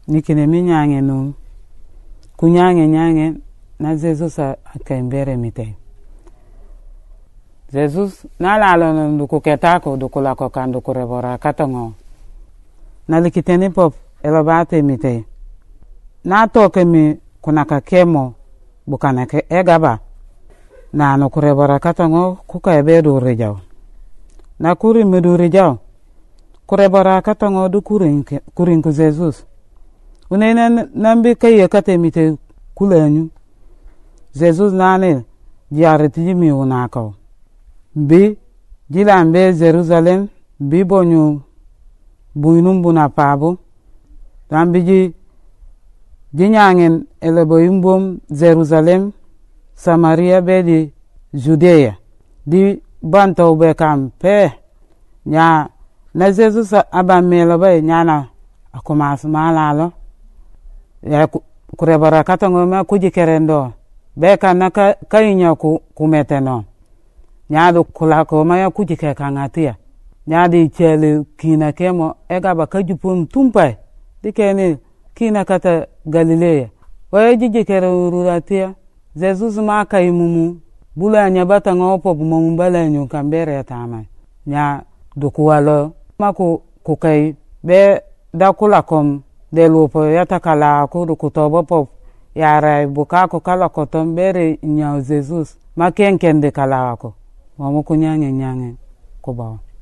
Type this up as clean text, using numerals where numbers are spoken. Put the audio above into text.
nikine mi nyange num ku nyange na Jesus akembere mite Jesus na lalo nduku ketako dukula ko kan duku rebora katongo na likiteni pop elobate mite na toke mi kunaka kemo bukana ke egaba na no kurebora katongo kuka ebedo rejaw na kuri medu rejaw kurebora katongo du kurin ku Jesus unene nambi kaye katemite kulenyu Jesus nane diareti mi unako bi jilambe Jerusalem bi bonyu buinum buna pabu tambi jinyangen elebo imbom Jerusalem Samaria bedi Judea di banto be kampe nya na Jesus abamelo be nyana akomas malalo ya kurebara katongo ma kujikerendo be kana kainya kumeteno nyado kulako ma ya kujike kangatia nyadi chele kina kemo egaba kajupum tumpai dikeni kina kata Galilea waye jijikere ururatia Jesus ma kaimumu bula nya batanga opo bumu balanyu kambere tama nya dukuwalo maku kukai be dakula kom de lupo yatakala ku dukutobo pop yara bukako kala kotom bere nya Jesus ma kenkende kala ko mamu kunyange nyange ko ba